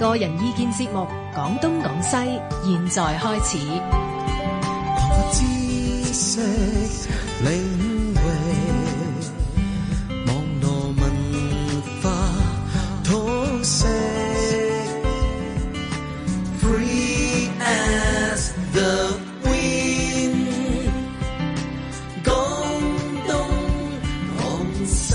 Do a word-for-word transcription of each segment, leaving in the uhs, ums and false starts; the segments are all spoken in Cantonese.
個人意見節目《講東講西》，現在開始。 知識領域，網絡文化通識 ，Free as the wind， 講東講西。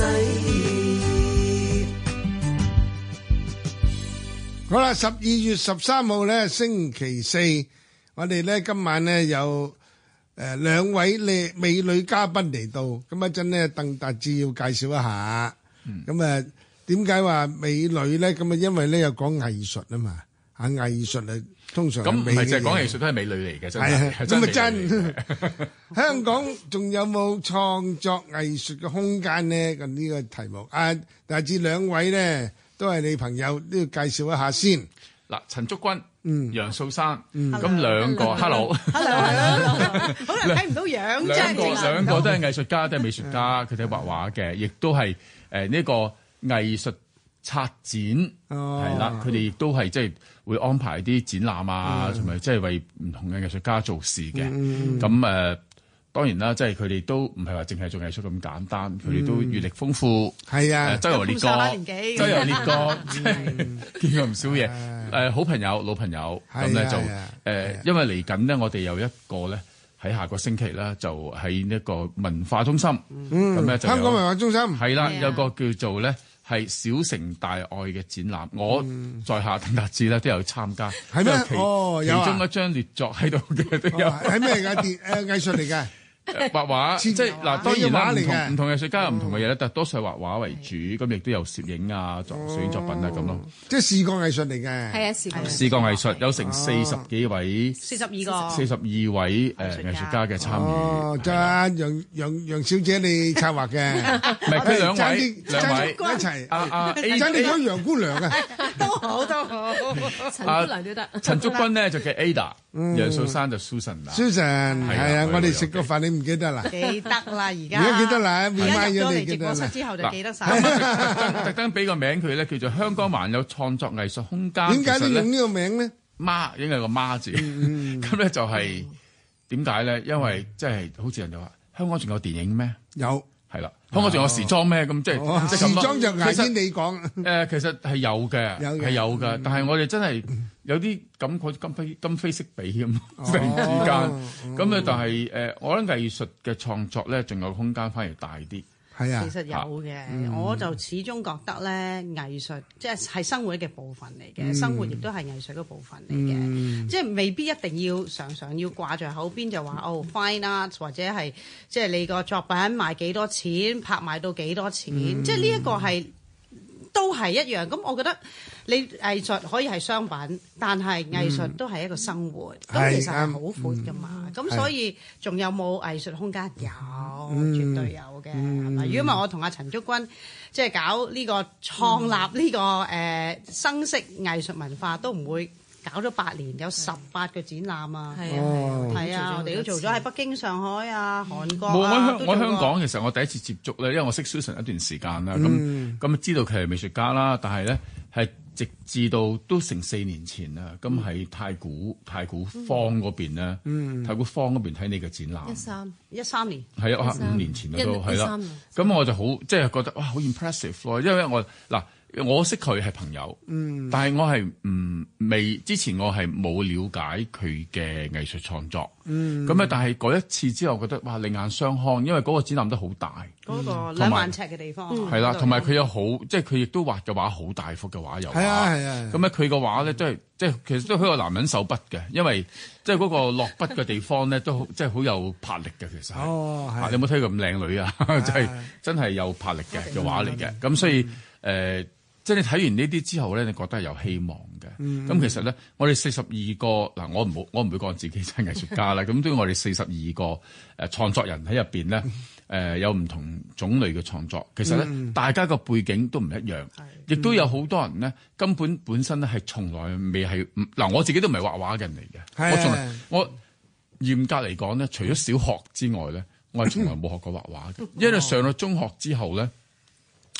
好啦，十二月十三號咧，星期四，我哋咧今晚咧有誒兩位靚美女嘉賓嚟到，咁一陣咧鄧達智要介紹一下。咁啊點解話美女咧？咁啊因為咧有講藝術啊嘛，嚇藝術啊通常咁唔係係就係講藝術都係美女嚟嘅，真係係咁啊真真。香港仲有冇創作藝術嘅空間咧？咁呢個題目啊，達智兩位咧。都係你朋友，都要介紹一下先。 嗱，陳竹君、 嗯、 楊素珊， 嗯咁兩個 hello，hello， 好難睇唔到樣啫。 兩個兩個都係藝術家，都係美術家，佢哋畫畫嘅，亦都係誒呢個藝術策展，係啦，佢哋亦都係即係會安排啲展覽啊，同埋即係為唔同嘅藝術家做事嘅。咁誒。當然啦，即係佢哋都唔係話淨係做藝術咁簡單，佢哋都閱歷豐富。 係啊， 周遊列國，周遊列國，即係見過唔少嘢。誒，好朋友、老朋友，咁咧就誒，因為嚟緊呢，我哋有一個咧喺下個星期咧，就喺呢個文化中心。咁咧就香港文化中心係啦，有個叫做咧係小城大愛嘅展覽。我在下鄧達智咧都有參加。 係咩？哦，有啊。 其中一張列作喺度嘅都有。 係咩㗎？電誒藝術嚟㗎。 畫畫即係嗱，當然啦，唔同唔同藝術家有唔同嘅嘢咧，但係多數係畫畫為主，咁亦都有攝影啊、作攝影作品啊咁咯。 即係視覺藝術嚟嘅。 係啊，視覺視覺藝術有成四十幾位， 四十二個， 四十二位誒藝術家嘅參與。 哦，就阿楊楊楊小姐你策劃嘅， 唔係佢兩位兩位一齊。 阿阿爭啲咗楊姑娘啊， 都好都好，陳姑娘都得。 陳竹君咧就叫 Ada，楊素珊就 Susan 啦。 Susan 係啊，我哋食個飯你唔記得啦？ 記得啦，而家而家記得啦， 而家入咗嚟直播室啦。 之後就記得晒。 特登俾個名佢咧，叫做香港還有創作藝術空間。 點解你用呢個名咧？ 媽應該係個媽字，咁咧就係點解咧？因為即係好似人哋話，香港仲有電影咩？ 有係啦，香港仲有時裝咩？咁即係即係時裝就牙先你講。 誒，其實係有嘅，係有嘅，但係我哋真係有啲感覺今非今非昔比咁，突然之間咁咧，但係誒，我覺得藝術嘅創作咧，仲有空間反而大啲。 係啊， 其實有嘅，嗯、我就始終覺得咧，藝術即係係生活嘅部分嚟嘅，嗯、生活亦都係藝術嘅部分嚟嘅，嗯、即係未必一定要常常要掛在口邊就話哦 fine art 或者係即係你個作品賣幾多錢，拍賣到幾多錢，嗯、即係呢一個係都係一樣。咁我覺得你藝術可以係商品，但係藝術都係一個生活，咁、嗯、其實係好闊噶嘛。咁、嗯、所以仲有冇藝術空間？有，嗯、絕對有嘅，係咪、嗯？如果唔係我同阿陳竹君即係搞呢個創立呢、呢個誒、呃、生式藝術文化，都唔會搞咗八年，有十八個展覽啊！係啊，係啊，我哋都做咗喺北京、上海啊、韓國啊。 我香我香港其實我第一次接觸咧，因為我識 Susan 一段時間啦，咁咁知道佢係美術家啦，但係咧係直至到都成四年前啦，咁喺太古太古坊嗰邊咧，太古坊嗰邊睇你嘅展覽。 一三一三年係啊，五年前都係啦。咁我就好即係覺得哇，好 impressive 咯，因為我嗱。我識佢係朋友，嗯、但係我係唔未之前我係冇了解佢嘅藝術創作，咁啊、嗯！但係嗰一次之後，覺得哇，另眼相看，因為嗰個展覽都好大， 嗰個兩萬尺嘅地方， 係啦，同埋佢有好，即係佢亦都畫嘅畫好大幅嘅畫，有畫， 係啊係啊。 咁咧佢個畫咧都係即係其實都係好有男人手筆嘅，因為即係嗰個落筆嘅地方咧都即係好有魄力嘅，其實係。哦，係。你有冇睇佢咁靚女啊？真係真係有魄力嘅嘅畫嚟嘅，咁所以誒。即係你睇完呢啲之後咧，你覺得係有希望嘅。咁、嗯、其實咧，我哋四十二個嗱，我唔好，我唔會講自己真係藝術家啦。咁都我哋四十二個誒創作人喺入邊咧，誒、呃、有唔同種類嘅創作。其實咧，嗯、大家個背景都唔一樣，亦、嗯、都有好多人咧根本本身咧係從來未係嗱，我自己都唔係畫畫嘅人嚟嘅。的我從來我嚴格嚟講咧，除咗小學之外咧，我係從來冇學過畫畫嘅。因為上到中學之後咧。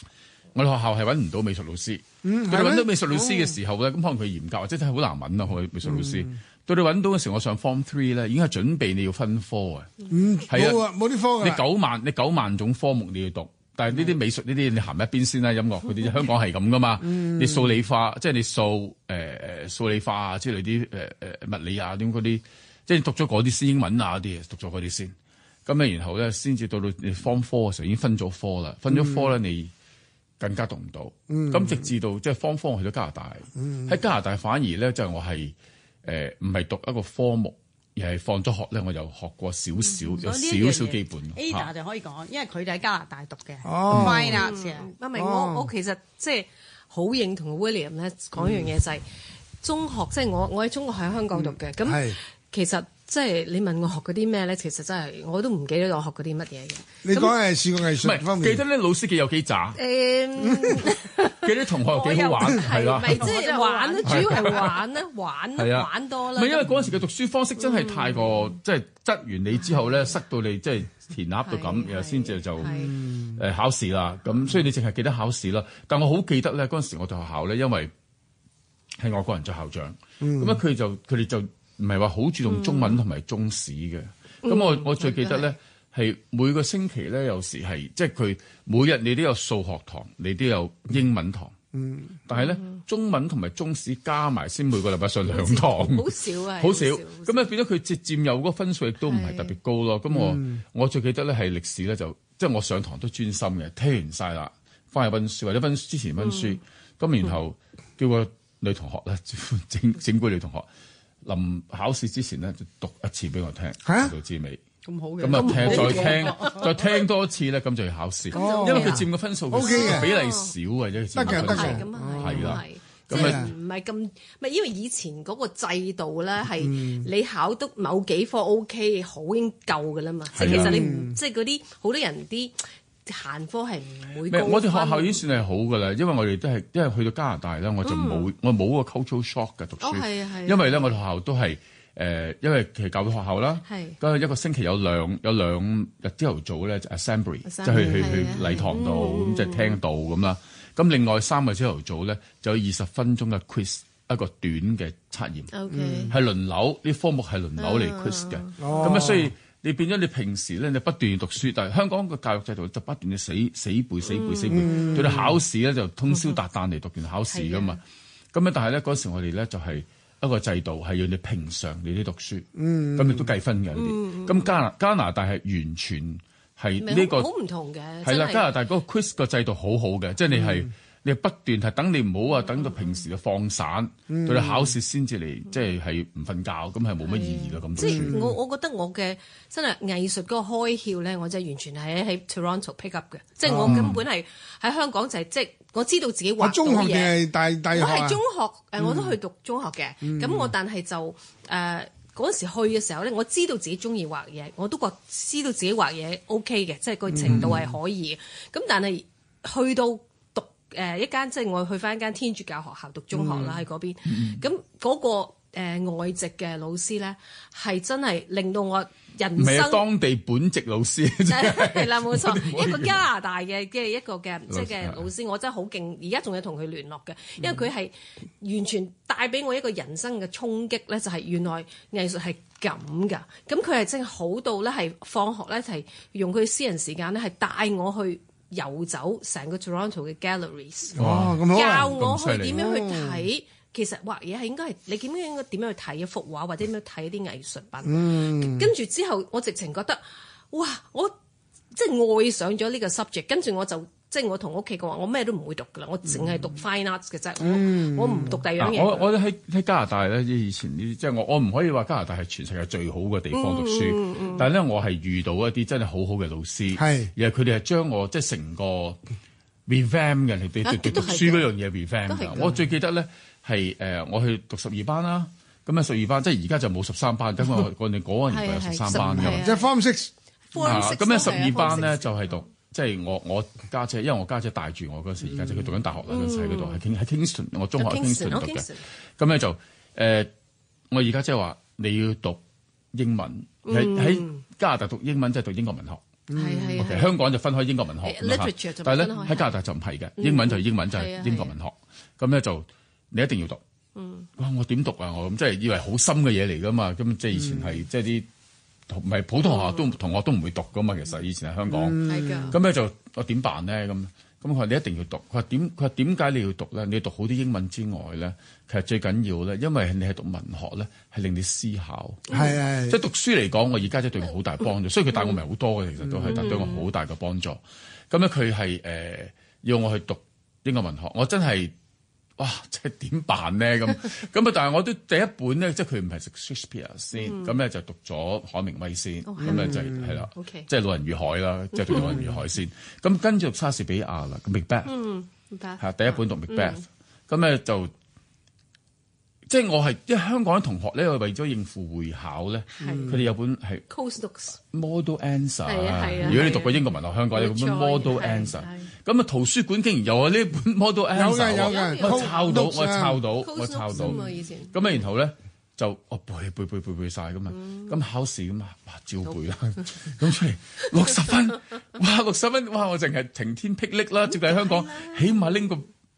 我哋學校係揾唔到美術老師。佢哋揾到美術老師嘅時候咧，咁、哦、可能佢嚴格或者真係好難揾啊！我美術老師。嗯到你揾到嘅時候，我上 Form Three 咧，已經係準備你要分科啊。 嗯，係啊，冇啲科㗎。 你九萬，你九萬種科目你要讀，但係呢啲美術呢啲你行一邊先啦。音樂嗰啲香港係咁噶嘛。嗯、你數理化，即係你數誒誒數理化啊之類啲誒誒物理啊點嗰啲，即係讀咗嗰啲先英文啊嗰啲，讀咗嗰啲先。咁咧，然後咧先至到到你 Form Four 嘅時候已經分咗科啦，分咗科咧、嗯、你更加讀唔到。咁、嗯、直至到即係 Form Four 去咗加拿大，喺、嗯、加拿大反而咧就係、我係。誒唔係讀一個科目，而係放咗學咧，我就學過少少，嗯、有少少基本。 Ada 就可以講，因為佢哋喺加拿大讀嘅。 哦 Fine Arts 啊， 阿明，我我其實即係好認同 William 咧講一樣嘢就係中學，即係我我喺中學喺香港讀嘅，咁、嗯、其實。即係你問我學嗰啲咩咧，其實真係我都唔記得我學嗰啲乜嘢嘅。 你講係視覺藝術方面， 記得咧老師幾有幾渣。 誒， 記得同學又幾好玩，係啦。 咪即係玩咧，主要係玩咧，玩玩多啦。 唔係因為嗰陣時嘅讀書方式真係太過，即係執完你之後咧，塞到你即係填鴨到咁，然後先至就誒考試啦。咁所以你淨係記得考試啦。但我好記得咧，嗰陣時我哋學校咧，因為係外國人做校長，咁啊佢就佢哋就。唔係話好注重中文同埋中史嘅，咁、嗯、我我最記得咧係每個星期咧有時係即係佢每日你都有數學堂，你都有英文堂，嗯，但係咧、嗯、中文同埋中史加埋先每個禮拜上兩堂， 好少啊， 好少，咁咧變咗佢佔佔有嗰個分數亦都唔係特別高咯。咁我、嗯、我最記得咧係歷史咧就即係我上堂都專心嘅，聽完晒啦，翻去溫書或者溫之前溫書，咁、嗯、然後叫個女同學咧整整蠱女同學。臨考試之前咧，就讀一次俾我聽，到至尾。 咁好嘅。 咁啊，聽再聽，再聽多一次咧，咁就要考試。因為佢佔嘅分數比例少啊，啫。 得嘅，得嘅。 咁啊係啦。 咁啊，唔係咁，唔係因為以前嗰個制度咧，係你考得某幾科 OK，好已經夠㗎啦嘛。即係其實你唔，即係嗰啲好多人啲。閒科係唔會高分。我哋學校已經算係好㗎啦，因為我哋都係，因為去到加拿大咧，我就冇、嗯，我冇個 cultural shock 嘅讀書。哦，係啊，係。因為咧，我哋學校都係誒、呃，因為其實教會學校啦，咁一個星期有兩有兩日朝頭早咧就 assembly，即係去去去禮堂度咁，即係聽道咁啦。咁另外三個朝頭早咧就有二十分鐘嘅 quiz， 一個短嘅測驗，係、okay. 輪流啲科目係輪流嚟 quiz 嘅。咁啊，所以。你變咗你平時咧，你不斷讀書，但係香港個教育制度就不斷嘅死死背死背死背，對你考試咧就通宵達旦嚟讀完考試噶嘛。咁咧，但係咧嗰時我哋咧就係一個制度係要你平常你啲讀書，咁亦都計分嘅啲。咁加拿加拿大係完全係呢、這個好唔同嘅。 係啦，加拿大嗰個 quiz 個制度好好嘅，即係你係。你不斷係等你唔好啊，等到平時嘅放散，嗯、到你考試先至嚟，即係係唔瞓覺，咁係冇乜意義咯。咁即係我我覺得我嘅真係藝術嗰個開竅咧，我真係完全係喺 Toronto pick up 嘅，即係我根本係喺香港就係、是、即係我知道自己畫到嘢。中學定係大大學？我係中學誒、嗯，我都去讀中學嘅。咁、嗯、我但係就誒嗰、呃、時去嘅時候咧，我知道自己中意畫嘢，我都覺知道自己畫嘢 OK 嘅，即係個程度係可以嘅。咁、嗯、但係去到誒、呃、一間即係我去翻一間天主教學校讀中學啦，喺嗰邊，咁嗰個、呃、外籍嘅老師咧，係真係令到我人生唔係當地本籍老師， 係啦冇錯，一個加拿大嘅嘅一個嘅即係嘅老師，我真係好勁，而家仲有同佢聯絡嘅，因為佢係完全帶俾我一個人生嘅衝擊咧，就係、是、原來藝術係咁㗎，咁佢係真係好到咧，係放學咧係用佢私人時間咧係帶我去。遊走成個 Toronto 嘅 galleries， 哇咁好教我去點樣去睇、哦，其實畫嘢係應該係你點樣應該點樣去睇一幅畫，或者點樣睇一啲藝術品。嗯、跟住之後，我直情覺得，哇！我即係愛上咗呢個 subject， 跟住我就即係我同屋企講話，我咩都唔會讀㗎啦，我淨係讀 fine arts 嘅啫、嗯，我唔讀第二樣嘢。 我我喺喺加拿大咧，以前呢，即係我我唔可以話加拿大係全世界最好嘅地方讀書，嗯嗯、但係咧我係遇到一啲真係好好嘅老師，係而係佢哋係將我即係成個 revamp 嘅，你哋讀讀書嗰樣嘢 revamp 㗎。我最記得咧係誒，我去讀十二班啦，咁啊十二班即係而家就冇十三班，因為我哋嗰個年代有十三班㗎， 即係 form six。 咁咧十二班咧就係讀。即係我我家姐，因為我家姐帶住我嗰時，而家姐佢讀緊大學啦，嗰時喺嗰度，喺喺 Kingston，我中學喺 Kingston 讀嘅。咁咧就誒、呃，我而家即係話你要讀英文，喺、嗯、喺加拿大讀英文即係讀英國文學。 係係。 香港就分開英國文學，但係咧喺加拿大就唔係嘅，英文就係英文，就係英國文學。咁咧就你一定要讀。哇！我點讀啊？我咁即係以為好深嘅嘢嚟㗎嘛。咁即係以前係即係啲唔係普通學校都同學都唔會讀㗎嘛。其實以前喺香港。咁咧就我點辦咧？咁咁佢話你一定要讀。佢話點？佢話點解你要讀咧？你要讀好啲英文之外咧，其實最緊要咧，因為你係讀文學咧，係令你思考。係係。即係讀書嚟講，我而家即係對我好大幫助。所以佢帶我唔係好多嘅，其實都係，但對我好大嘅幫助。咁咧佢係誒要我去讀英國文學，我真係。哇！即係點辦咧？咁咁啊！但係我都第一本咧，即係佢唔係食 Shakespeare 先，咁咧就讀咗海明威先，咁咧就係啦，即係《老人與海》啦，即係讀《老人與海》先。咁跟住讀莎士比亞啦，《Macbeth》係第一本讀《Macbeth》，咁咧就即係我係因為香港啲同學咧，為咗應付會考咧，佢哋有本係 Model Answer。如果你讀過英國文學，香港有本 Model Answer。咁啊，圖書館竟然有啊呢本 Model Answer， 有嘅有嘅， 我抄到，我抄到，我抄到。咁啊，然後咧就我背背背背背晒咁啊，咁考試咁啊，哇照背啦，咁出嚟六十分，哇六十分，哇我淨係晴天霹靂啦，接近香港起碼拎個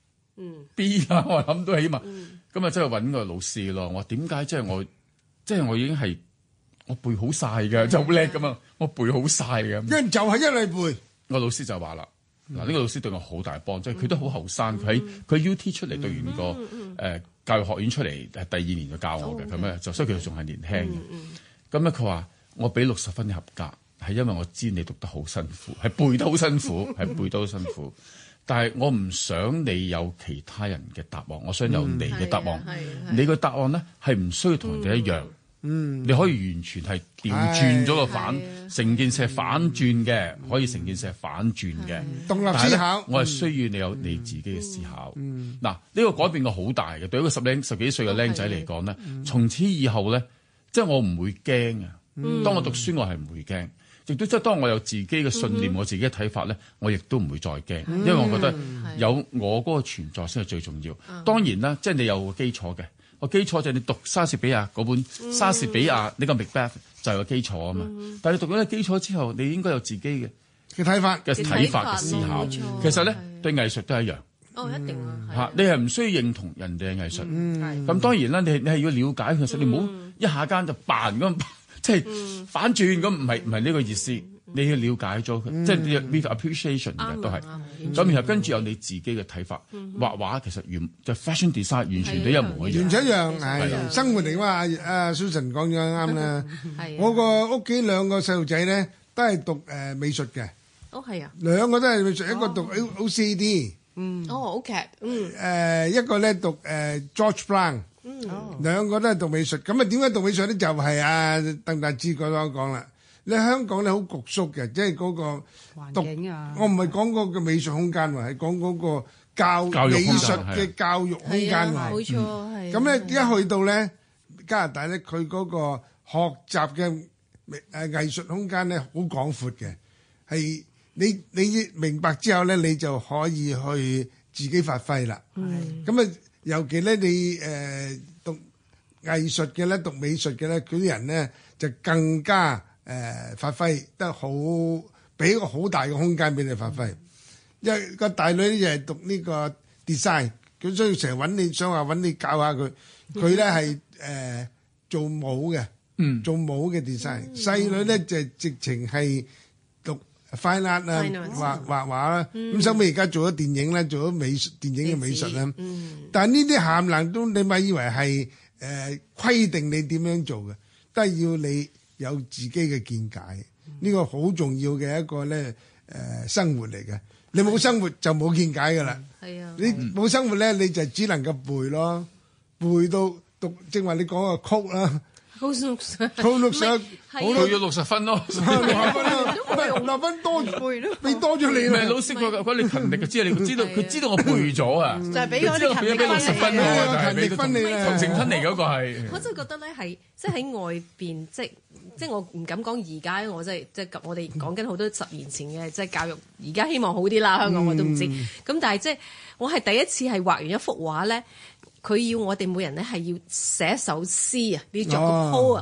B 啦，我諗都起碼。咁啊，真係揾個老師咯。我點解即係我即係我已經係我背好晒嘅，就好叻噶嘛，我背好晒嘅。 因為就係一嚟背， 我老師就話啦。嗱，呢個老師對我好大幫，即係佢都好後生，佢喺佢 U T 出嚟讀完個誒教育學院出嚟，係第二年就教我嘅，咁咧就所以佢仲係年輕嘅。咁咧佢話我俾六十分嘅合格，係因為我知你讀得好辛苦，係背得好辛苦，係背得好辛苦。但係我唔想你有其他人嘅答案，我想有你嘅答案。你個答案咧係唔需要同人哋一樣。嗯，你可以完全係調轉咗個反，成件事係反轉嘅，可以成件事係反轉嘅。 獨立思考， 我係需要你有你自己嘅思考。嗱，呢個改變個好大嘅，對一個十零十幾歲嘅僆仔嚟講咧，從此以後咧，即係我唔會驚啊。當我讀書，我係唔會驚，亦都即係當我有自己嘅信念，我自己嘅睇法咧，我亦都唔會再驚，因為我覺得有我嗰個存在先係最重要。當然啦，即係你有個基礎嘅。個基礎就係你讀莎士比亞嗰本莎士比亞呢個 Macbeth 就係個基礎啊嘛。但係你讀咗呢個基礎之後，你應該有自己嘅嘅睇法嘅睇法嘅思考。其實咧對藝術都係一樣。 哦，一定啊。 嚇，你係唔需要認同人哋嘅藝術。咁當然啦，你你係要了解其實，你唔好一下間就扮咁，即係反轉咁，唔係唔係呢個意思。你要了解咗佢，即係 with appreciation 嘅都係。咁然後跟住有你自己嘅睇法。畫畫其實完就 fashion design 完全都一模一樣。 完全一樣係生活嚟㗎嘛。阿 Susan 講咗啱啦。我個屋企兩個細路仔咧都係讀誒美術嘅。 哦，係啊。 兩個都係美術，一個讀 O C D。 嗯。哦 ，OK。嗯。 誒一個咧讀誒 George Brown。嗯。兩個都係讀美術。咁啊點解讀美術咧？就係阿鄧達智嗰個講啦。你香港咧好局縮嘅，即係嗰個環境啊。 我唔係講嗰個美術空間喎，係講嗰個教美術嘅教育空間喎。 冇錯，係。 咁咧一去到咧加拿大咧，佢嗰個學習嘅誒藝術空間咧好廣闊嘅，係你你明白之後咧，你就可以去自己發揮啦。咁啊，尤其咧你誒讀藝術嘅咧，讀美術嘅咧，嗰啲人咧就更加。誒、呃、發揮得好，俾一個好大嘅空間俾你發揮。因為個大女咧就係讀呢個 design，佢所以成日揾你，想話揾你教下佢。佢咧係誒做舞嘅，嗯、做舞嘅 design。細女咧就直情係讀 fine art 啊，畫畫畫啦。咁收尾而家做咗電影咧，做咗美術電影嘅美術啦。嗯、但係呢啲涵養都你咪以為係誒規定你點樣做嘅，都係要你。有自己嘅見解，呢個好重要嘅一個咧誒生活嚟嘅。你冇生活就冇見解㗎啦。係啊，你冇生活咧，你就只能夠背咯，背到讀正話你講個曲啦。 好六十， 好六十， 好到咗六十分咯， 六十分咯，唔係六十分多背咯，俾多咗你。 唔係老師佢佢你勤力就知，你知道佢知道我背咗啊， 就係俾嗰啲勤力俾六十分喎， 勤力分你啦。 同情分嚟嗰個係。 我真係覺得咧係，即係喺外邊，即係即係我唔敢講而家，我即係即係我哋講緊好多十年前嘅即係教育，而家希望好啲啦，香港我都唔知。咁但係即係我係第一次係畫完一幅畫咧。佢要我哋每人咧係要寫一首詩啊，你要作個 poem 啊，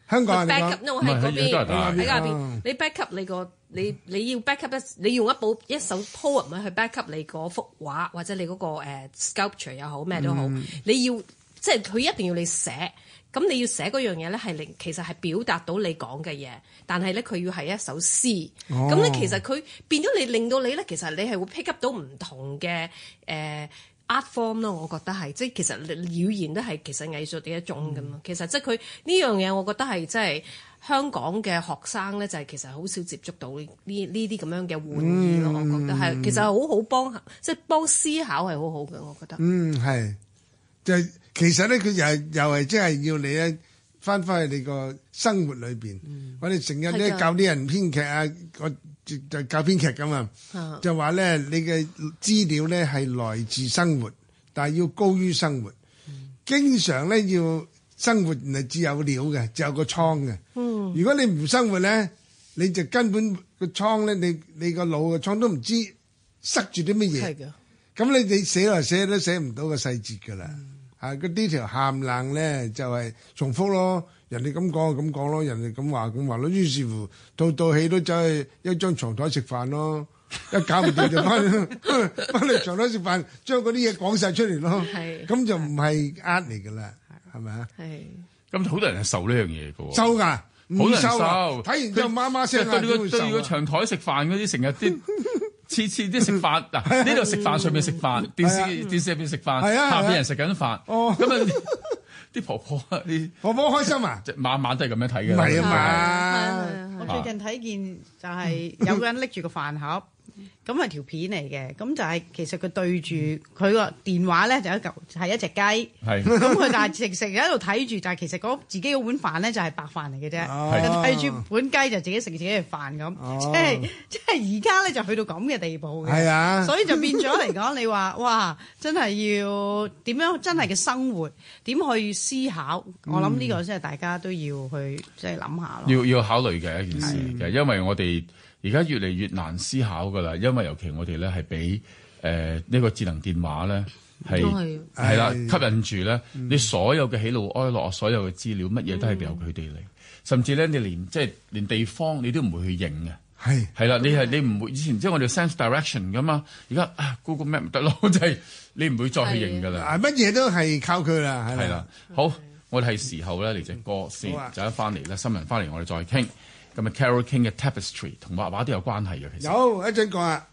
香港 back up，我喺嗰邊喺邊嗰邊，你 back up 你個你你要 back up 一，你用一部一首 poem 去 back up 你嗰幅畫或者你嗰個誒 sculpture 又好咩都好，你要即係佢一定要你寫。咁你要寫嗰樣嘢咧，係令其實係表達到你講嘅嘢，但係咧佢要係一首詩。咁咧、哦、其實佢變咗你令到你咧，其實你係會 pick up 到唔同嘅誒、呃、art form 咯。我覺得係即係其實語言都係其實藝術嘅一種咁嘛。嗯、其實即係佢呢樣嘢，我覺得係即係香港嘅學生咧，就係其實好少接觸到呢呢啲咁樣嘅玩意咯。嗯、我覺得係其實係好好幫即係幫思考係好好嘅，我覺得。嗯， 係就係。其實咧，佢又係又係即係要你咧翻返去你個生活裏邊。嗯、我哋成日咧教啲人編劇啊，我就就教編劇咁啊，的就話咧你嘅資料咧係來自生活，但係要高於生活。嗯、經常咧要生活唔係只有料嘅，只有個倉嘅。嗯、如果你唔生活咧，你就根本個倉咧，你你個腦個倉都唔知塞住啲乜嘢。係嘅。咁你你寫來寫都寫唔到個細節㗎啦。嗯啊！嗰呢條喊冷咧就係、是、重複咯，人哋咁講就咁講咯，人哋咁話咁話咯，於是乎套套戲都走去一張床台食飯咯，一搞唔掂就翻翻嚟床台食飯，將嗰啲嘢講晒出嚟咯，咁是就唔係呃嚟噶啦，係咪啊？係咁好多人係受呢樣嘢嘅喎， 收㗎。 好難受， 睇完之後媽媽聲啊， 對個對個長台食飯嗰啲，成日啲次次啲食飯嗱，呢度食飯上面食飯，電視電視入邊食飯，下邊人食緊飯，咁啊啲婆婆啲婆婆開心啊， 晚晚都係咁樣睇嘅。 唔係啊嘛， 我最近睇見就係有個人拎住個飯盒。咁係條片嚟嘅，咁就係其實佢對住佢個電話咧，就一嚿係一隻雞。係咁佢但係食食喺度睇住，但係其實嗰自己嗰碗飯咧就係白飯嚟嘅啫。睇住碗雞就自己食自己嘅飯咁，即係即係而家咧就去到咁嘅地步嘅。係啊，所以就變咗嚟講，你話哇，真係要點樣真係嘅生活點去思考？我諗呢個真係大家都要去即係諗下咯。 要要考慮嘅一件事嘅，因為我哋。而家越嚟越難思考㗎啦，因為尤其我哋咧係俾誒呢個智能電話咧係係啦吸引住咧，嗯、你所有嘅喜怒哀樂、所有嘅資料，乜嘢都係由佢哋嚟，嗯、甚至咧你連即係連地方你都唔會去認嘅，係係啦，你係你唔會以前即係我哋 sense direction 㗎嘛，而家啊 Google Map 唔得咯，就係你唔會再去認㗎啦， 乜嘢都係靠佢啦， 係啦，好，我哋係時候咧嚟隻歌先，就一翻嚟咧新聞翻嚟，我哋再傾。咁啊 Carole King 嘅 Tapestry 同畫畫都有關係嘅，其實有一陣講啊。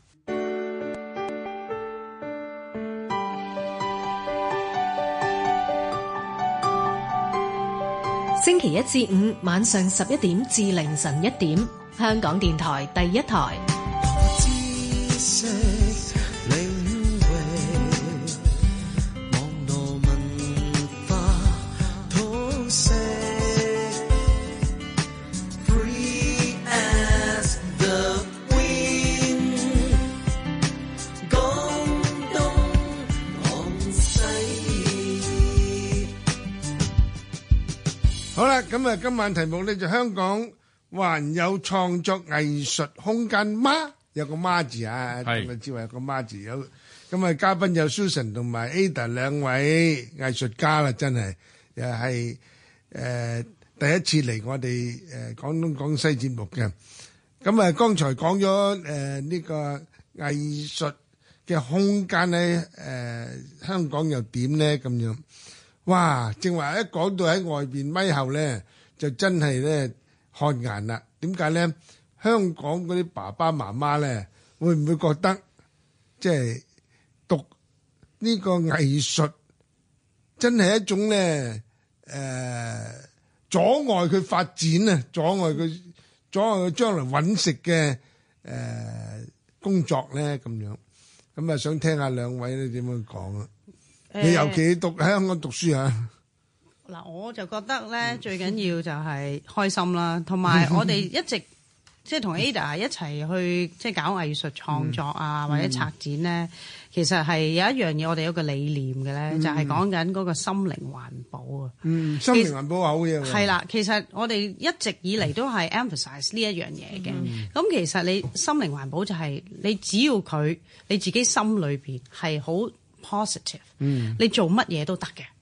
星期一至五晚上十一點至凌晨一點，香港電台第一台。 好啦，咁啊，今晚題目咧就香港還有創作藝術空間嗎？有個嗎字啊，咁啊，知話有個嗎字。有咁啊，嘉賓有 Susan 同埋 Ada 兩位藝術家啦，真係又係誒第一次嚟我哋誒廣東廣西節目嘅。咁啊，剛才講咗誒呢個藝術嘅空間咧，誒香港又點咧咁樣？哇！正話一講到喺外邊咪後咧，就真係咧看顏啦。點解咧？香港嗰啲爸爸媽媽咧，會唔會覺得即係讀呢個藝術真係一種咧誒阻礙佢發展啊，阻礙佢阻礙佢將來揾食嘅誒工作咧咁樣？咁啊，想聽下兩位咧點樣講啊？你尤其讀喺香港讀書啊？ 嗱，我就覺得咧最緊要就係開心啦，同埋我哋一直即係同 Ada 一齊去即係搞藝術創作啊，嗯、或者策展咧，其實係有一樣嘢我哋有個理念嘅咧，嗯、就係講緊嗰個心靈環保啊。嗯，心靈環保係好嘢。係啦，其實我哋一直以嚟都係 emphasize 呢一樣嘢嘅。咁、嗯、其實你心靈環保就係你只要佢你自己心裏邊係好 positive，嗯，你做乜嘢都得嘅。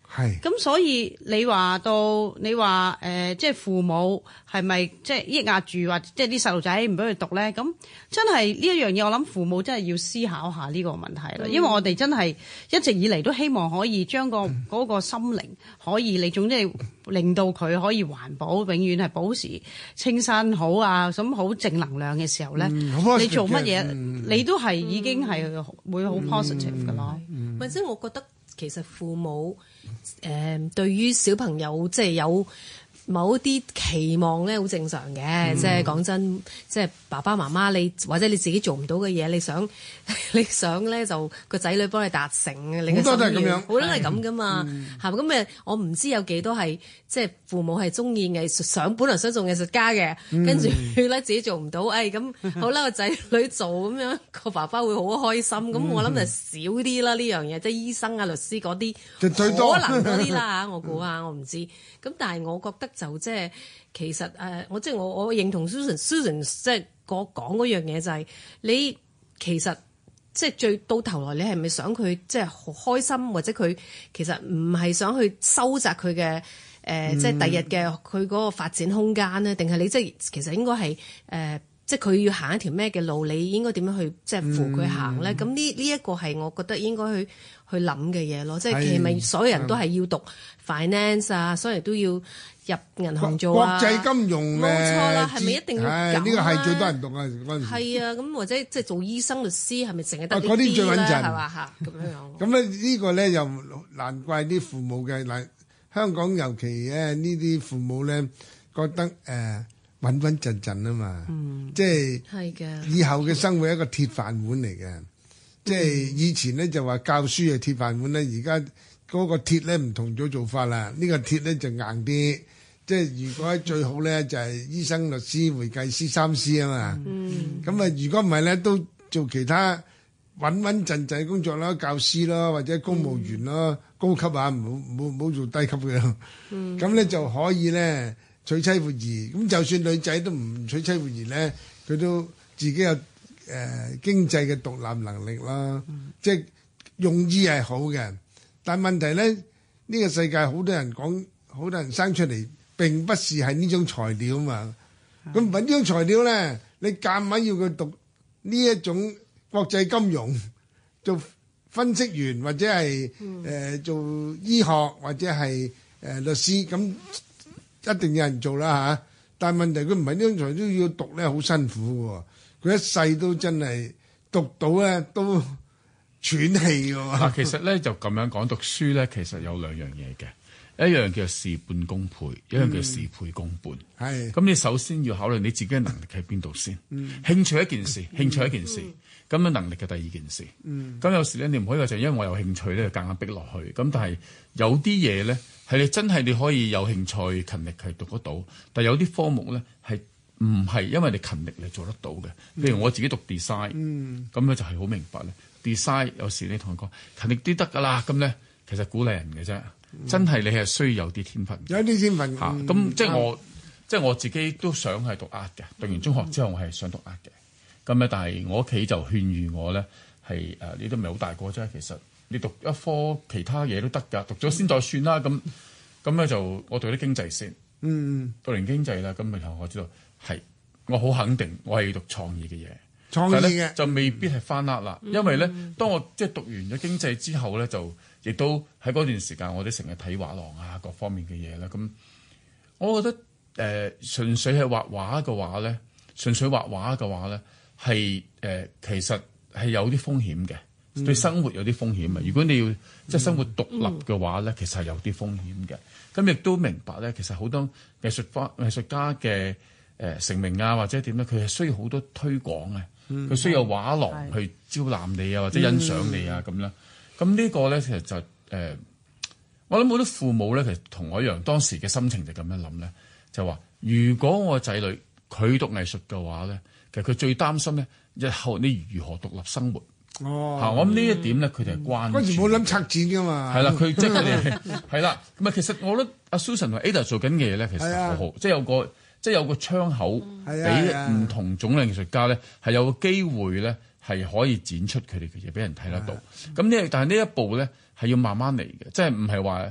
係。 咁所以你話到你話誒、呃，即係父母係咪即係抑壓住，或者即係啲細路仔唔俾佢讀咧？咁真係呢一樣嘢，我諗父母真係要思考下呢個問題啦。嗯、因為我哋真係一直以嚟都希望可以將個嗰個心靈可以，你總之係令到佢可以環保，永遠係保持清新好啊，咁好正能量嘅時候咧，嗯、你做乜嘢、嗯、你都係已經係會好 positive 噶咯。 或者我覺得其實父母誒、呃、對於小朋友即係有某一啲期望咧，好正常嘅。嗯、即係講真，即係爸爸媽媽你或者你自己做唔到嘅嘢，你想你想咧就個仔女幫你達成嘅，你嘅心願好多都係咁樣，好多都係咁噶嘛，係咪咁誒？我唔知有幾多係即係父母係中意藝術，想本來想做藝術家嘅，嗯、跟住咧自己做唔到，誒咁好啦，個仔女做咁樣，個爸爸會好開心。咁、嗯、我諗就少啲啦呢樣嘢，即係醫生啊、律師嗰啲，可能多啲啦嚇。我估下，我唔知。咁但係我覺得。就即係其實誒、呃，我即係我我認同 Susan Susan 即係我講嗰樣嘢就係、是、你其實即係最到頭來你係咪想佢即係好開心，或者佢其實唔係想去收窄佢嘅誒即係第日嘅佢嗰個發展空間咧？定係你即係其實應該係誒、呃、即係佢要行一條咩嘅路，你應該點樣去即係扶佢行咧？咁呢呢一個係我覺得應該去去諗嘅嘢咯。即係其實咪所有人都係要讀 finance 啊，所有人都要入銀行做啊， 國際金融冇錯啦，係咪一定要咁啊？ 呢個係最多人讀啊嗰陣時。 係啊，咁或者即係做醫生、律師，係咪淨係得呢啲咧？ 係嘛嚇咁樣樣。 咁咧呢個咧又難怪啲父母嘅嗱，香港尤其咧呢啲父母咧覺得誒穩穩陣陣啊嘛， 嗯、 即係係嘅。 以後嘅生活係一個鐵飯碗嚟嘅，嗯、即係以前咧就話教書係鐵飯碗咧，而家嗰個鐵咧唔同咗做法啦，呢、呢個鐵咧就硬啲。即係如果最好咧，就係醫生、律師、會計師三師啊嘛。咁啊、嗯，如果唔係咧，都做其他穩穩陣陣工作啦，教師啦，或者公務員啦，嗯、高級啊，唔好唔好唔好做低級嘅。咁咧、嗯、就可以咧娶妻活兒。咁就算女仔都唔娶妻活兒咧，佢都自己有誒、呃、經濟嘅獨立能力啦。嗯、即係用意係好嘅，但係問題咧，呢、呢個世界好多人講，好多人生出嚟。並不是係呢種材料嘛，咁唔係呢種材料咧，你夾硬要佢讀呢一種國際金融，做分析員或者係誒、呃、做醫學或者係誒、呃、律師，咁一定有人做啦嚇、啊。但係問題佢唔係呢種材料要讀咧，好辛苦嘅喎，佢一世都真係讀到咧都喘氣嘅喎。 嗱，其實咧就咁樣講讀書咧，其實有兩樣嘢嘅。一樣叫事半功倍，一樣叫事倍功半。係咁、嗯，你首先要考慮你自己嘅能力喺邊度先。嗯、興趣一件事，興趣一件事，咁樣、嗯、能力嘅第二件事。咁、嗯、有時咧，你唔可以話就因為我有興趣咧，就夾硬逼落去。咁但係有啲嘢咧，係你真係你可以有興趣、勤力係讀得到。但係有啲科目咧係唔係因為你勤力你做得到嘅。譬如我自己讀 design，咁咧、嗯、就係好明白咧。design 有時你同佢講勤力啲得㗎啦，咁咧其實鼓勵人嘅啫。真係你係需要有啲天分， 有啲天分嚇。咁、 嗯、即係我，嗯、即係我自己都想係讀 art 嘅。讀完中學之後，我係想讀 art 嘅。咁咧，但係我屋企就勸喻我咧，係誒、呃，你都唔係好大個啫。其實你讀一科其他嘢都得㗎，讀咗先再算啦。咁咁咧就我讀啲經濟先。嗯，讀完經濟啦，咁然後我知道係我好肯定，我係要讀創意嘅嘢。創意嘅就未必係翻 art 啦，嗯、因為咧，當我即係讀完咗經濟之後咧，就亦都喺嗰段時間，我哋成日睇畫廊啊，各方面嘅嘢啦。咁我覺得誒、呃，純粹係畫畫嘅話咧，純粹畫畫嘅話咧，係誒、呃，其實係有啲風險嘅，嗯、對生活有啲風險啊。如果你要即係生活獨立嘅話咧，嗯、其實係有啲風險嘅。咁亦都明白咧，其實好多藝術家藝術家嘅誒、呃、成名啊，或者點咧，佢係需要好多推廣啊。佢、嗯、需要畫廊去招攬你啊，或者欣賞你啊咁啦。咁、嗯、呢個咧，其實就誒、呃，我諗好多父母咧，其實同我一樣，當時嘅心情就咁樣諗咧，就話如果我仔女佢讀藝術嘅話咧，其實佢最擔心咧，日後你如何獨立生活。哦，嚇！我諗呢一點咧，佢哋係關注。嗰時冇諗拆剪噶嘛。係啦，佢即係佢哋係啦。咁啊，其實我覺得阿 Susan 同 Ada 做緊嘅嘢咧，其實好好，即係有個。即係有個窗口俾唔同種類藝術家咧，係有個機會咧，係可以展出佢哋嘅嘢俾人睇得到。咁呢？但係呢一步咧係要慢慢嚟嘅，即係唔係話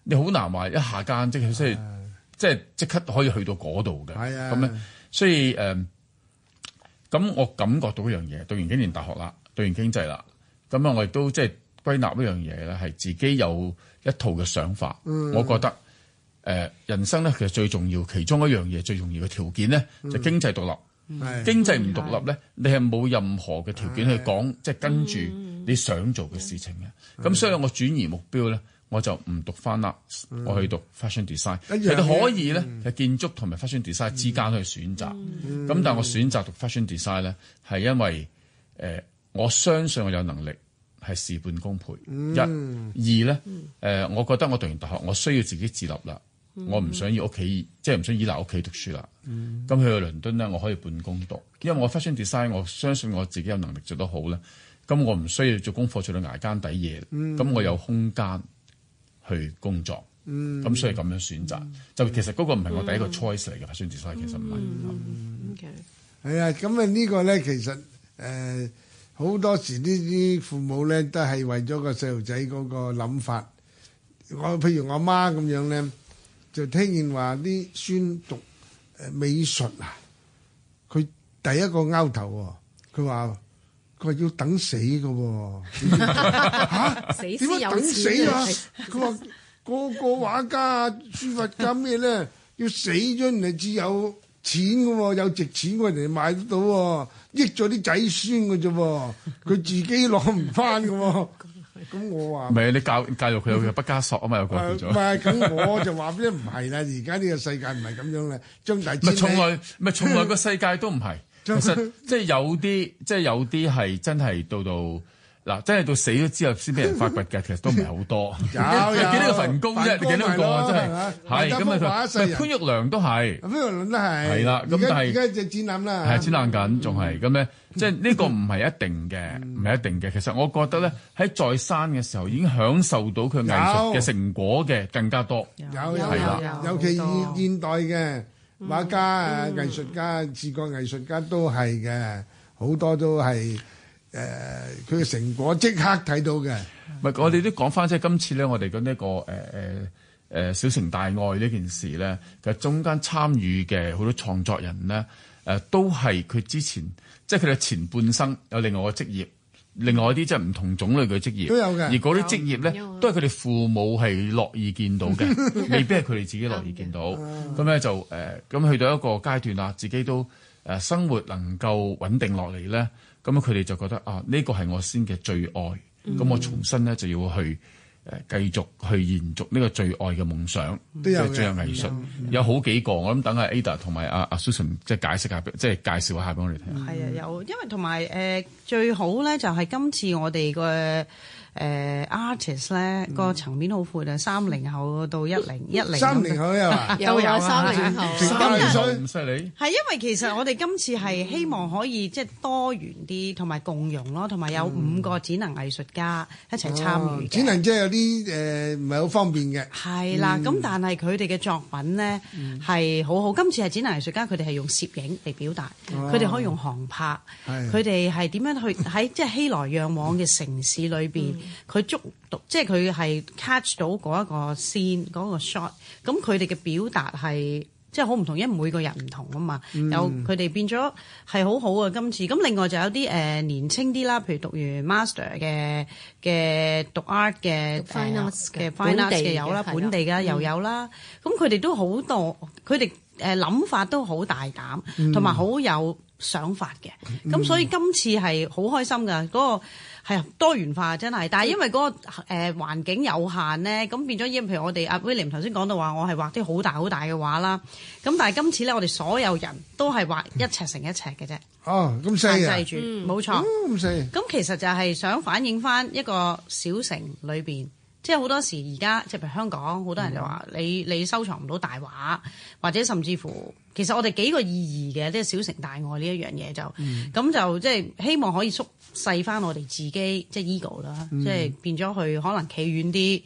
你好難話一下間即係即係即係即刻可以去到嗰度嘅。 係啊， 咁咧，所以誒，咁、呃、我感覺到一樣嘢，讀完幾年大學啦，讀完經濟啦，咁啊，我亦都即係歸納一樣嘢咧，係自己有一套嘅想法。嗯、我覺得誒、呃，人生咧其實最重要，其中一樣嘢最重要嘅條件咧，就係、經濟獨立。嗯、經濟唔獨立咧，你係冇任何嘅條件去講，即係跟住你想做嘅事情嘅。咁、嗯、所以我轉移目標咧，我就唔讀翻啦，嗯、我去讀 fashion design。其實可以咧，係、嗯、建築同埋 fashion design 之間去選擇。咁、嗯、但係我選擇讀 fashion design 咧，係因為誒、呃，我相信我有能力係事半功倍。嗯、一、二咧，誒、呃，我覺得我讀完大學，我需要自己自立啦。我唔想要屋企，即係唔想依賴屋企讀書啦。咁、嗯、去到倫敦咧，我可以半工讀，因為我 fashion design，我相信我自己有能力做得好咧。咁我唔需要做功課做到捱更抵夜，咁、嗯、我有空間去工作。咁、嗯、所以咁樣選擇，嗯、就其實嗰個唔係我第一個 choice 嚟嘅 fashion design，其實唔係。 係啊，咁啊呢個咧其實誒好、呃、多時呢啲父母咧都係為咗個細路仔嗰個諗法。我譬如我媽咁樣咧。就聽見話啲孫讀誒美術啊，佢第一個拗頭喎，佢話佢話要等死嘅喎，嚇點解等死啊？佢話個個畫家、書法家咩咧，要死咗人哋至有錢嘅喎，有值錢嘅人哋買得到喎，益咗啲仔孫嘅啫喎，佢自己攞唔翻嘅喎。咁我話唔係你教教育佢有畢加索啊嘛，有個叫做唔係咁，我就話咧唔係啦，而家呢個世界唔係咁樣啦，張大千唔係從來唔係從來個世界都唔係，其實即係有啲即係有啲係真係到到嗱，真係到死咗之後先俾人發掘嘅，其實都唔係好多。有有幾多個墳工啫？你幾多個真係係咁啊？潘玉良都係，潘玉良都係係啦。咁但係而家隻展覽啦，係展覽緊，仲係咁咧。即係呢個唔係一定嘅，唔係一定嘅。其實我覺得咧，喺在生嘅時候已經享受到佢藝術嘅成果嘅更加多。有有有，尤其現現代嘅畫家啊、藝術家、視覺藝術家都係嘅，好多都係誒佢嘅成果即刻睇到嘅。唔係，我哋都講翻即係今次咧，我哋嘅呢個誒誒誒小城大愛呢件事咧，其實中間參與嘅好多創作人咧，誒都係佢之前。即係佢哋前半生有另外個職業，另外一啲即係唔同種類嘅職業都有嘅。而嗰啲職業咧，都係佢哋父母係樂意見到嘅，未必係佢哋自己樂意見到。咁咧就誒，咁去到一個階段啦，自己都誒生活能夠穩定落嚟咧，咁佢哋就覺得啊，呢個係我先嘅最愛。咁、嗯、我重新咧就要去誒繼續去延續呢個最愛嘅夢想，即係最有藝術。有好幾個，我諗等阿 Ada 同埋阿阿 Susan 即係解釋下，即係介紹一下俾我哋聽。係啊，有，因為同埋誒最好咧，就係今次我哋個誒 artist 咧個層面好闊啊，三零後到一零一零，三零後有啊，都有三零後，咁犀利。係因為其實我哋今次係希望可以即係多元啲，同埋共融咯，同埋有五個展能藝術家一齊參與。展能即係有啲誒唔係好方便嘅。係啦，咁但係佢哋嘅作品咧係好好。今次係展能藝術家，佢哋係用攝影嚟表達，佢哋可以用航拍，佢哋係點樣去喺即係熙來攘往嘅城市裏邊。佢捉到，即係佢係 catch 到嗰一個 scene 嗰個 shot，咁佢哋嘅表達係即係好唔同，因為每個人唔同啊嘛。嗯、有佢哋變咗係好好啊！今次咁，另外就有啲誒、呃、年青啲啦，譬如讀完 master 嘅嘅讀 art 嘅 fine arts 嘅 fine arts 嘅有啦，本地嘅又有啦。咁佢哋都好多，佢哋誒諗法都好大膽，同埋好有想法嘅。咁、嗯、所以今次係好開心㗎，嗰、嗰個。係啊，多元化真係，但係因為嗰、那個誒、呃、環境有限咧，咁變咗，因譬如我哋阿 William 頭先講到話，我係畫啲好大好大嘅畫啦。咁但係今次咧，我哋所有人都係畫一尺乘一尺嘅啫。哦，咁細啊！限制住，冇、嗯、錯。咁細。咁其實就係想反映翻一個小城裏邊，即係好多時而家，即係譬如香港，好多人就話、嗯、你你收藏唔到大畫，或者甚至乎，其實我哋幾個意義嘅，即係小城大愛呢一樣嘢就，咁、嗯、就即係希望可以縮細翻我哋自己即係 ego 啦，即係變咗去可能企遠啲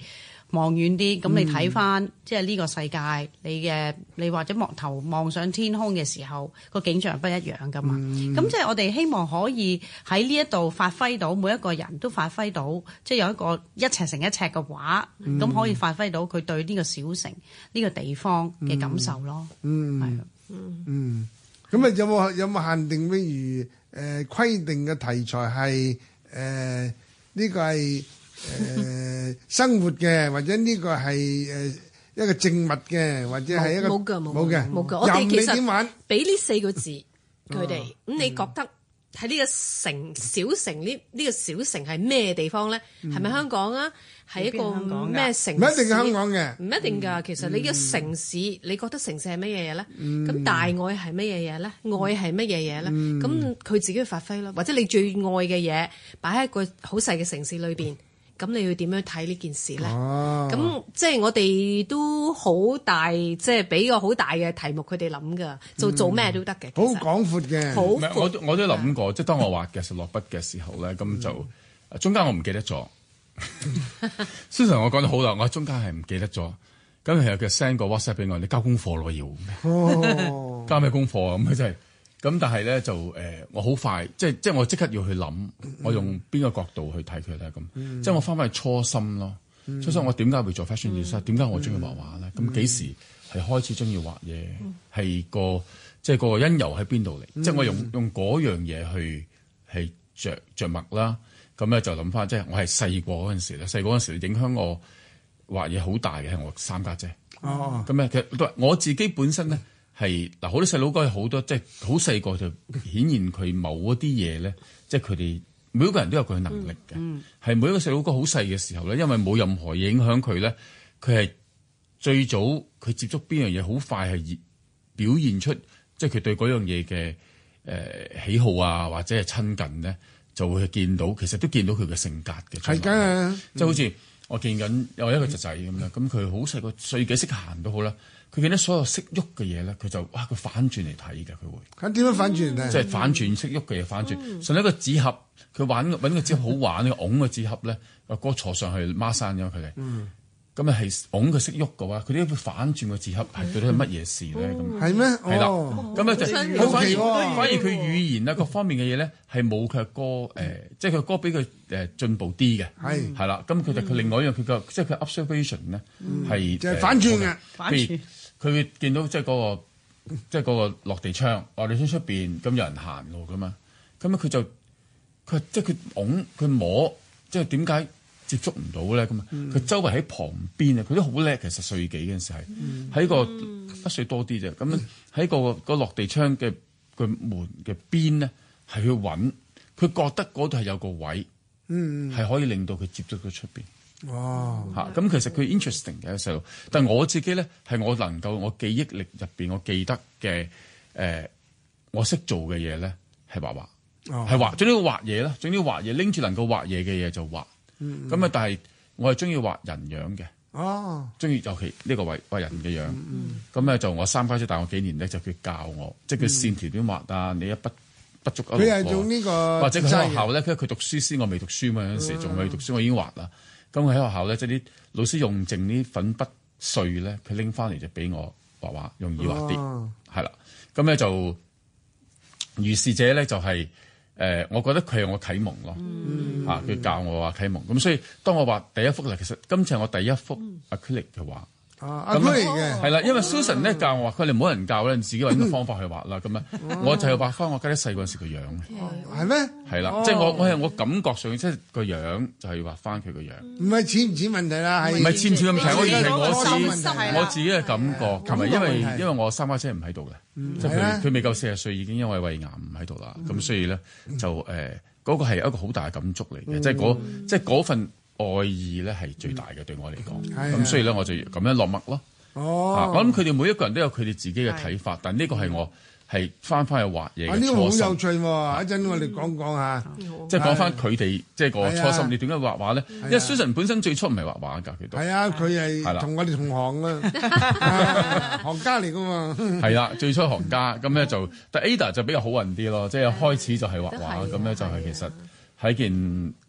望遠啲，咁你睇翻即係呢個世界，你嘅你或者望頭望上天空嘅時候，個景象係不一樣噶嘛。咁、嗯、即係我哋希望可以喺呢一度發揮到每一個人都發揮到，即係有一個一尺乘一尺嘅畫，咁、嗯、可以發揮到佢對呢個小城呢、呢個地方嘅感受咯。 嗯，係，嗯，咁啊有冇有冇限定？譬如誒規定嘅題材係誒呢個係。誒、呃、生活嘅，或者呢個係誒一個靜物嘅，或者係一個冇嘅冇冇嘅冇嘅。我哋其實俾呢四個字佢哋，咁、嗯、你覺得喺呢個城小城呢？呢、這個小城係咩地方咧？係咪、嗯、香港啊？係一個咩城市？ 唔一定係香港嘅， 唔一定㗎。嗯、其實你嘅城市，嗯、你覺得城市係乜嘢嘢咧？咁、嗯、大愛係乜嘢嘢咧？愛係乜嘢嘢咧？咁佢、嗯、自己去發揮咯，或者你最愛嘅嘢擺喺一個好細嘅城市裏邊。咁你要點樣睇呢件事咧？咁、啊、即係我哋都好大，即係俾個好大嘅題目佢哋諗㗎，做做咩都得嘅。 好廣闊嘅。 好闊，我我都諗過，即係當我畫嘅時候落筆嘅時候咧，咁就、嗯、中間我唔記得咗。雖然我講得好啦，我中間係唔記得咗。咁其實佢 send 個 WhatsApp 俾我，你交功課咯要。哦、交咩功課啊？咁真係。咁但係咧就誒、呃，我好快，即係即係我即刻要去諗，我用邊個角度去睇佢咧咁，嗯、即係我翻返去初心咯。嗯、初心我點解會做 fashion design？點解我中意畫畫咧？咁幾、嗯、時係開始中意畫嘢？係、嗯、個即係個因由喺邊度嚟？嗯、即係我用用嗰樣嘢去係着著墨啦。咁咧就諗翻，即係我係細個嗰陣時咧，細個嗰陣時影響我畫嘢好大嘅係我三家姐。哦，咁咧其實我自己本身咧。係嗱，好多細佬哥好多，即係好細個就顯現佢某一啲嘢咧，即係佢哋每一個人都有佢嘅能力嘅。係、嗯嗯、每一個細佬哥好細嘅時候咧，因為冇任何影響佢咧，佢係最早佢接觸邊樣嘢，好快係表現出即係佢對嗰樣嘢嘅誒喜好啊，或者係親近咧，就會見到其實都見到佢嘅性格嘅。係㗎、啊，即係好似我見緊有一個侄仔咁樣，咁佢好細個歲幾識行都好啦。佢見到所有識喐嘅嘢咧，佢就哇佢反轉嚟睇嘅，佢會。咁點樣反轉咧？即係反轉識喐嘅嘢反轉。甚至、嗯、一個紙盒，佢玩揾個紙盒好玩，呢個擁個紙盒咧，阿哥坐上去孖山咗佢哋。咁啊係擁佢識喐嘅話，佢哋會反轉個紙盒係對佢係乜嘢事咧？咁係咩？係啦。咁啊就好反而反而佢語言啊各方面嘅嘢咧係冇佢歌誒，即係佢歌比佢誒進步啲嘅。係係啦。咁佢就佢另外一樣佢個即係佢 observation 咧係就係反轉嘅反轉。佢會見到即係嗰個即係嗰個落地窗，落地窗出邊咁有人行路噶嘛，咁啊佢就佢即係佢拱佢摸，即係點解接觸唔到咧？咁啊佢周圍喺旁邊啊，佢都好叻。其實歲幾嗰陣時係喺個一歲多啲啫，咁喺個個落地窗嘅個門嘅邊咧，係去揾，佢覺得嗰度係有個位，係可以令到佢接觸到出邊。哇！嚇咁、嗯、其實佢 interesting 嘅細路，但係我自己咧係我能夠我記憶力入邊我記得嘅誒、呃，我識做嘅嘢咧係畫畫，係、哦、畫，總之畫嘢啦，總之畫嘢拎住能夠畫嘢嘅嘢就畫。咁啊、嗯嗯，但係我係中意畫人樣嘅。哦，中意尤其呢個畫畫人嘅樣。咁咧、嗯嗯、就我三家姐大我幾年咧，就佢教我，即係佢線條點畫啊，你一筆不足一路過。佢係用呢個，或者佢喺學校咧，佢佢讀書先，我未讀書嘛，有陣時仲未讀書，我已經畫啦。咁佢喺學校咧，即係啲老師用剩啲粉筆碎咧，佢拎翻嚟就俾我畫畫，容易畫啲，係啦、哦。咁咧就如是者咧就係、是、誒、呃，我覺得佢係我啟蒙咯，嚇佢、嗯、教我畫啟蒙。咁所以當我畫第一幅咧，其實今次係我第一幅 acrylic 嘅畫。啊，咁嚟嘅係啦，因為 Susan 咧教我話，佢哋冇人教咧，你自己揾個方法去畫啦。咁樣我就係畫翻我家姐細嗰陣時個樣。係咩？係啦，即係我我係我感覺上即係個樣就係畫翻佢個樣。唔係似唔似問題啦，係唔係似唔似問題？我係我自我自己嘅感覺，同埋因為因為我三家姐唔喺度嘅，即係佢佢未夠四十歲已經因為胃癌唔喺度啦。咁所以咧就誒嗰個係一個好大嘅感觸嚟嘅，即係嗰即係嗰份愛意咧係最大嘅，對我嚟講，咁所以咧我就咁樣落墨咯。哦，我諗佢哋每一個人都有佢哋自己嘅睇法，但呢個係我係翻翻去畫嘢嘅初心。啊，呢個好有趣喎！一陣我哋講講下，即係講翻佢哋即係個初心。你點解畫畫咧？因為 Susan 本身最初唔係畫畫㗎，佢都係啊，佢係同我哋同行啊，行家嚟㗎嘛。係啦，最初行家咁咧就，但 Ada 就比較好運啲咯，即係開始就係畫畫，咁咧就係其實係一件。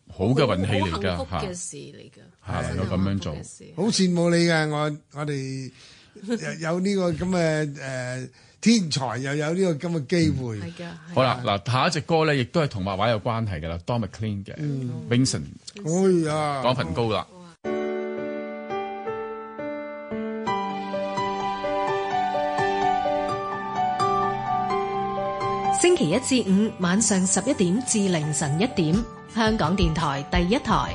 好嘅運氣嚟㗎， 好幸福嘅事嚟㗎， 係能夠咁樣做， 好羨慕你嘅。我我哋有呢個咁嘅誒天才，又有呢個咁嘅機會。 係㗎。 好啦，嗱下一隻歌咧，亦都係同畫畫有關係㗎啦 ，Don McLean 嘅 Vincent， 哎呀， 講份高啦。 星期一至五晚上十一點至凌晨一點，香港電台第一台。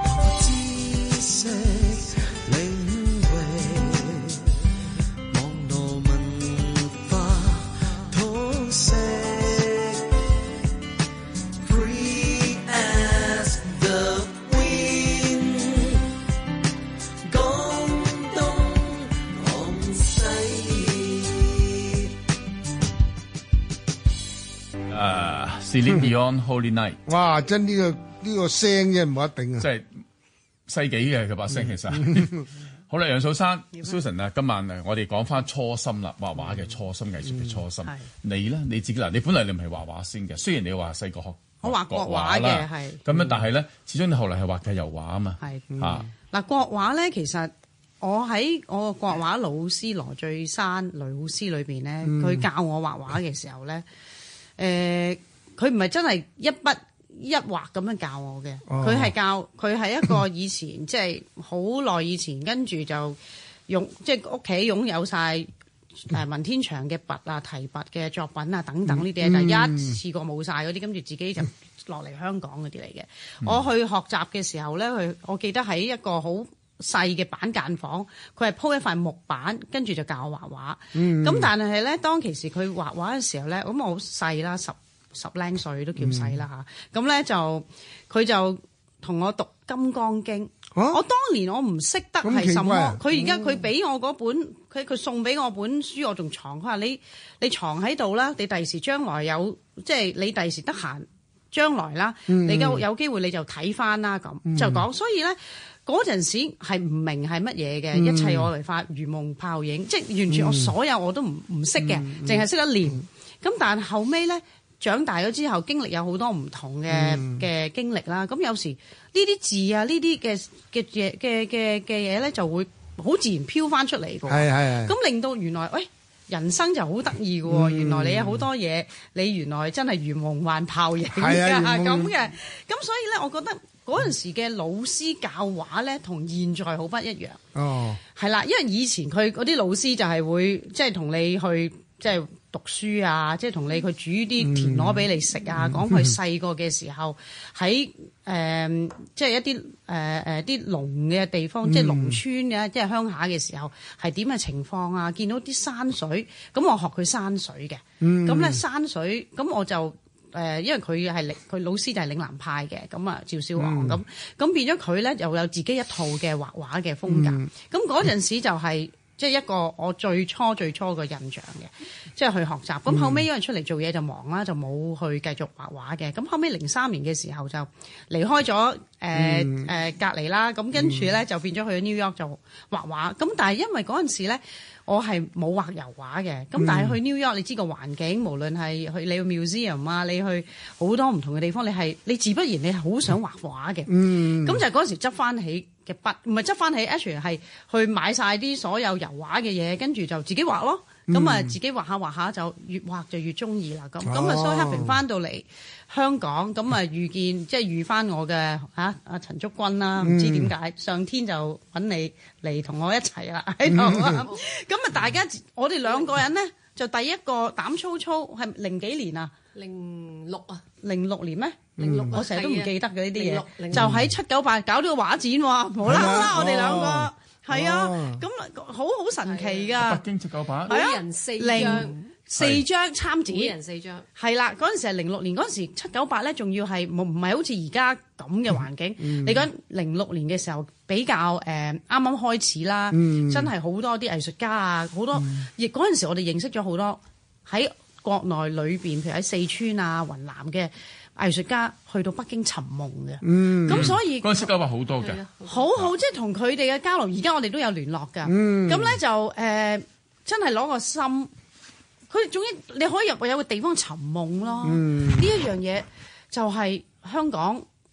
Celine Dion Holy Night， 哇！真呢個呢個聲啫，唔冇得頂啊！ 即係世紀嘅佢把聲，其實好啦，楊素珊 Susan 啊，今晚啊，我哋講翻初心啦，畫畫嘅初心，藝術嘅初心。你咧你自己嗱，你本嚟你唔係畫畫先嘅，雖然你話細個學我畫國畫嘅，係咁樣，但係咧，始終你後嚟係畫嘅油畫啊嘛。 係啊嗱，國畫咧，其實我喺我個國畫老師羅最山老師裏邊咧，佢教我畫畫嘅時候咧，誒。佢唔係真係一筆一畫咁樣教我嘅，佢係、哦、教佢係一個以前即係好耐以前，跟住就用即係屋企擁有晒誒文天祥嘅筆啊、提筆嘅作品啊等等呢啲嘢，就、嗯、一次過冇晒嗰啲，跟住自己就落嚟香港嗰啲嚟嘅。嗯、我去學習嘅時候咧，佢我記得喺一個好細嘅板間房，佢係鋪一塊木板，跟住就教我畫畫。咁、嗯、但係咧，當其時佢畫畫嘅時候咧，咁我好細啦，十十零歲都叫細啦嚇，咁咧、嗯、就佢就同我讀《金剛經》啊。我當年我唔識得係什麼，佢而家佢俾我嗰本，佢佢送俾我本書，我仲藏。佢話你你藏喺度啦，你第時將來有即係你第時得閒，將來啦，嗯、你有有機會你就睇翻啦咁，嗯、就講。所以咧嗰陣時係唔明係乜嘢嘅，嗯、一切我嚟發如夢泡影，即係完全我所有我都唔唔識嘅，淨係識得念。咁、嗯、但係後尾咧。長大咗之後，經歷有好多唔同嘅嘅、嗯、經歷啦。咁有時呢啲字啊，呢啲嘅嘅嘅嘅嘅嘅嘢咧，就會好自然飄翻出嚟嘅。係係係。咁令到原來，喂、哎，人生就好得意嘅喎。嗯、原來你有好多嘢，你原來真係如夢幻泡影㗎咁嘅。咁所以咧，我覺得嗰陣時嘅老師教畫咧，同現在好不一樣。哦。係啦，因為以前佢嗰啲老師就係會即係同你去即係。讀書啊，即係同你佢煮啲田螺俾你食啊，講佢細個嘅時候喺誒、呃，即係一啲誒誒啲農嘅地方，嗯、即係農村嘅，即係鄉下嘅時候係點嘅情況啊？見到啲山水，咁我學佢山水嘅，咁咧、嗯、山水，咁我就誒、呃，因為佢係嶺，佢老師就係嶺南派嘅，咁啊趙少昂咁，咁、嗯、變咗佢咧又有自己一套嘅畫畫嘅風格，咁嗰陣時就係、是。即係一個我最初最初嘅印象嘅，即係去學習。咁後尾因為出嚟做嘢就忙啦，就冇去繼續畫畫嘅。咁後尾零三年嘅時候就離開咗誒誒隔離啦。咁跟住咧就變咗去咗 New York 就畫畫。咁但係因為嗰陣時咧，我係冇畫油畫嘅。咁但係去 New York，你知個環境，無論係去你去 museum 啊，你去好多唔同嘅地方，你係你自不然你係好想畫畫嘅。咁就嗰陣時執翻起嘅筆，唔係執翻起 actually 係去買晒啲所有油畫嘅嘢，跟住就自己畫咯。咁啊、嗯、自己畫下畫下就越畫就越中意啦。咁咁啊，所以 happy 翻到嚟香港，咁啊遇見即係遇翻我嘅嚇阿陳竹君啦，唔知點解、嗯、上天就揾你嚟同我一齊啦喺度啊。咁啊、嗯、大家我哋兩個人咧就第一個膽粗粗係零幾年啊？零六啊？零六年咩？零六、嗯，我成日都唔記得嘅呢啲嘢，就喺七九八搞呢個畫展喎，無啦啦我哋兩個係啊，咁好好神奇㗎。 北京七九八， 每人四張， 四張參展， 每人四張，係啦。嗰陣時係零六年，嗰陣時七九八咧，仲要係唔唔係好似而家咁嘅環境。嗯、你講零六年嘅時候比較誒啱啱開始啦，嗯、真係好多啲藝術家啊，好多亦嗰陣時我哋認識咗好多喺國內裏邊，譬如喺四川啊、雲南嘅藝術家去到北京尋夢嘅，咁、嗯、所以嗰陣時交流好多嘅， 好好即係同佢哋嘅交流。而家我哋都有聯絡㗎，咁咧、嗯、就誒、呃、真係攞個心，佢總之你可以入去有個地方尋夢咯。呢、嗯、一樣嘢就係香港，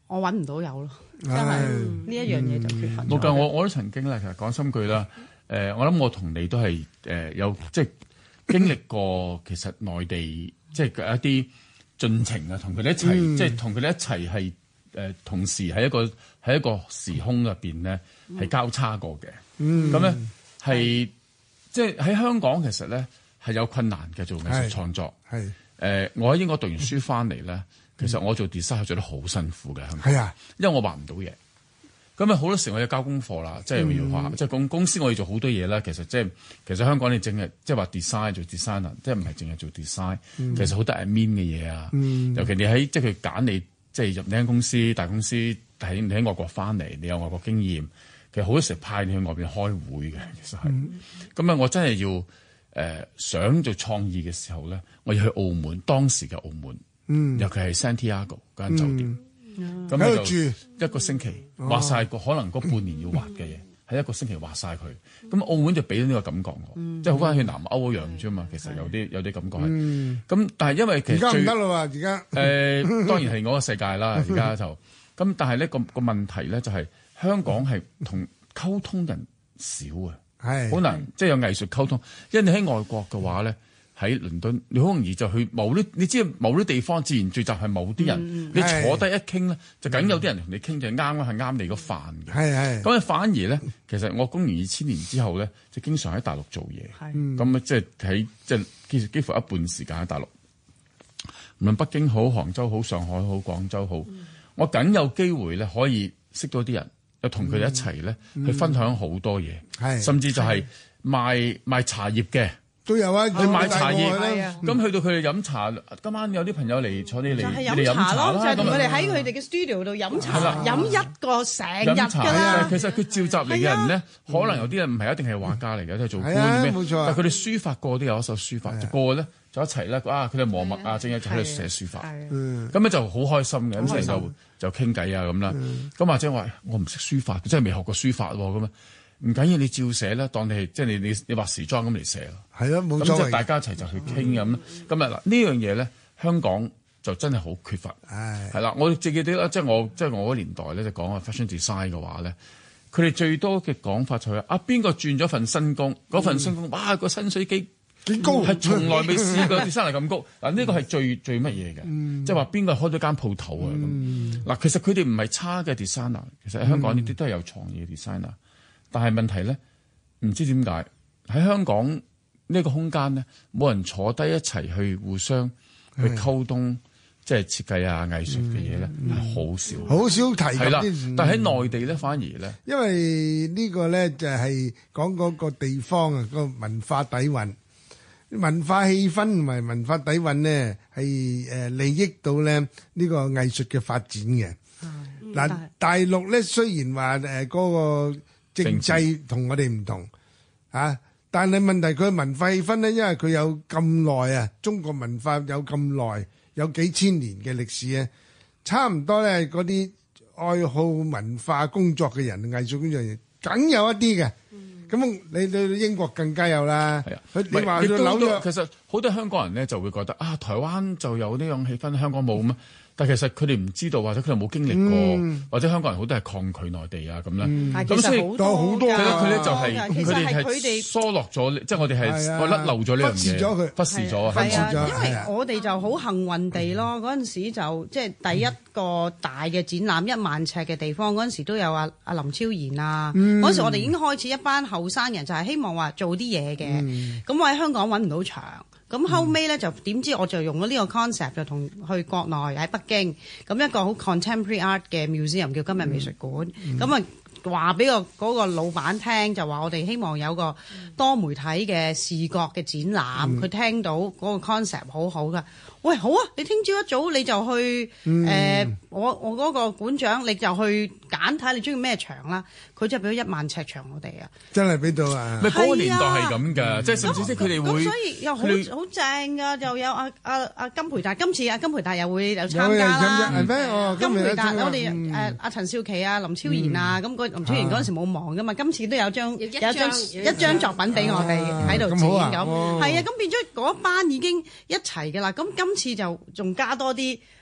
我揾唔到有咯，真係呢一樣嘢就缺乏咗。 冇㗎，我我都曾經咧，其實講心句啦，誒，我諗我同你都係誒有即係經歷過，其實內地即係一啲進程啊，同佢哋一齊，即係同佢哋一齊係誒同時喺一個喺一個時空入邊咧係交叉過嘅。咁咧係即係喺香港其實咧係有困難嘅做藝術創作。係誒，我喺英國讀完書翻嚟咧。其實我做 design 做得好辛苦嘅，係啊，因為我畫唔到嘢，咁啊好多時我要交功課啦，即係要畫，即係公公司我要做好多嘢啦。其實即係其實香港你淨係即係話 design 做 designer，即係唔係淨係做 design，嗯、其實好多 admin 嘅嘢啊。嗯、尤其你喺即係佢揀你，即係入呢間公司大公司，喺你喺外國翻嚟，你有外國經驗，其實好多時派你去外邊開會嘅，其實係。咁啊、嗯，我真係要誒、呃、想做創意嘅時候咧，我要去澳門，當時嘅澳門。嗯，尤其係 Santiago 嗰間酒店，咁喺度住一個星期，畫晒個可能嗰半年要畫嘅嘢，喺一個星期畫晒佢。咁澳門就俾咗呢個感覺我，即係好翻去南歐一樣啫嘛。其實有啲有啲感覺係。咁但係因為其實而家唔得啦喎，而家誒當然係我個世界啦。而家就咁，但係呢個個問題咧就係香港係同溝通人少啊，係好難即係有藝術溝通。因為你喺外國嘅話咧。喺倫敦，你好容易就去某啲，你知某啲地方自然聚集係某啲人，嗯、你坐低一傾咧，就梗有啲人同你傾就啱啦，係啱你個飯嘅。係係。咁啊，反而咧，其實我公元二千年之後咧，就經常喺大陸做嘢。係。咁啊，即係喺即係幾幾乎一半時間喺大陸，無論北京好、杭州好、上海好、廣州好，嗯、我梗有機會咧可以識到啲人，又同佢哋一齊咧、嗯、去分享好多嘢。係、嗯。甚至就係賣賣茶葉嘅。 都有啊， 去買茶葉，咁去到佢哋飲茶。今晚有啲朋友嚟坐你嚟，你哋飲茶咯， 就係同佢哋喺佢哋嘅 studio 度飲茶，飲一個成日㗎啦。 其實佢召集嚟嘅人咧，可能有啲人唔係一定係畫家嚟嘅，都係做官咩？冇錯。但係佢哋書法個都有一手書法，個個咧就一齊咧啊！佢哋磨墨啊，正一就喺度寫書法。咁咧就好開心嘅，咁成日就就傾偈啊咁啦。咁或者話我唔識書法，真係未學過書法喎咁啊！唔緊要，你照寫啦，當你係即係你你你畫時裝咁嚟寫咯。係啊，冇錯。咁即係大家一齊就去傾咁。咁啊嗱，呢樣嘢咧，香港就真係好缺乏。係係啦，我記記得啦，即係我即係我嗰年代咧，就講啊 fashion design 嘅話咧，佢哋最多嘅講法就係啊，邊個轉咗份新工，嗰份新工，哇個薪水幾幾高，係從來未試過 designer 咁高。嗱呢個係最最乜嘢嘅，即係話邊個開咗間鋪頭啊咁。嗱，其實佢哋唔係差嘅 designer，其實喺香港呢啲都係有創意嘅 designer。但係問題咧，唔知點解喺香港呢個空間咧，冇人坐低一齊去互相去溝通，即係設計啊、藝術嘅嘢咧，係好少， 好少提及。係啦， 但係喺內地咧，反而咧， 因為呢個咧就係講嗰個地方啊，個文化底蘊、文化氣氛同埋文化底蘊咧，係誒利益到咧呢個藝術嘅發展嘅。嗱，大陸咧雖然話誒嗰個政制同我哋唔同啊，但係問題佢文化氣氛咧，因為佢有咁耐啊，中國文化有咁耐，有幾千年嘅歷史咧，差唔多咧嗰啲愛好文化工作嘅人、藝術工作人，梗有一啲嘅。咁你你英國更加有啦。係啊，佢你話去紐約， 其實好多香港人咧就會覺得啊，台灣就有呢樣氣氛，香港冇咩？但其實佢哋唔知道，或者佢哋冇經歷過，嗯、或者香港人好多係抗拒內地啊咁啦。咁、嗯、所以好多好多， 佢咧就係佢哋係疏落咗，即係我哋係甩漏咗呢樣嘢，忽視咗佢，忽視咗，忽視咗。 因為我哋就好幸運地咯，嗰陣時就即係第一個大嘅展覽，一萬尺嘅地方，嗰陣時都有阿阿林超賢啊。嗰陣、嗯、時我哋已經開始一班後生人就係希望話做啲嘢嘅。咁、嗯、我喺香港揾唔到場。咁後尾咧就點知我就用咗呢個 concept 就同去國內喺北京咁一個好 contemporary art 嘅 museum 叫今日美術館，咁啊話俾個嗰個老闆聽就話我哋希望有個多媒體嘅視覺嘅展覽，佢、嗯、聽到嗰個 concept 好好噶，喂好啊，你聽朝一早你就去誒、嗯呃、我我嗰個館長你就去揀睇你中意咩場啦，佢就俾咗一萬尺場我哋啊， 真係俾到啊！ 咪嗰個年代係咁㗎，即係甚至即係佢哋會， 所以又好好正㗎，又有阿阿阿金培達，今次阿金培達又會有參加啦，係咩？哦，金培達我哋誒阿陳少琪啊、林超賢啊，咁嗰林超賢嗰陣時冇忙㗎嘛，今次都有張有一張一張作品俾我哋喺度展咁，係啊，咁變咗嗰班已經一齊㗎啦，咁今次就仲加多啲